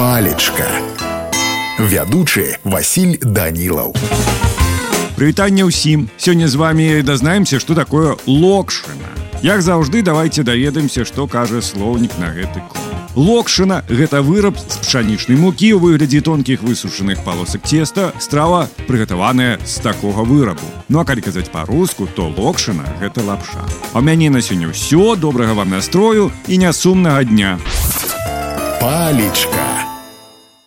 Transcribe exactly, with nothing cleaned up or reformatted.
Палечка. Вядучы Васіль Данілаў. Прывітанне ўсім. Сёння з вами дазнаемся, што такое локшына. Як заўжды, давайте даведаемся, што кажа слоўнік на гэты конт. Локшына – гэта выраб з пшанічнай мукі ў выглядзе тонкіх высушаных палосак цеста, страва, прыгатаваная з такога вырабу. Ну а калі казаць па-руску, то локшына – гэта лапша. А ў мяне на сёння ўсё, добрага вам настрою і нясумнага дня. Палечка.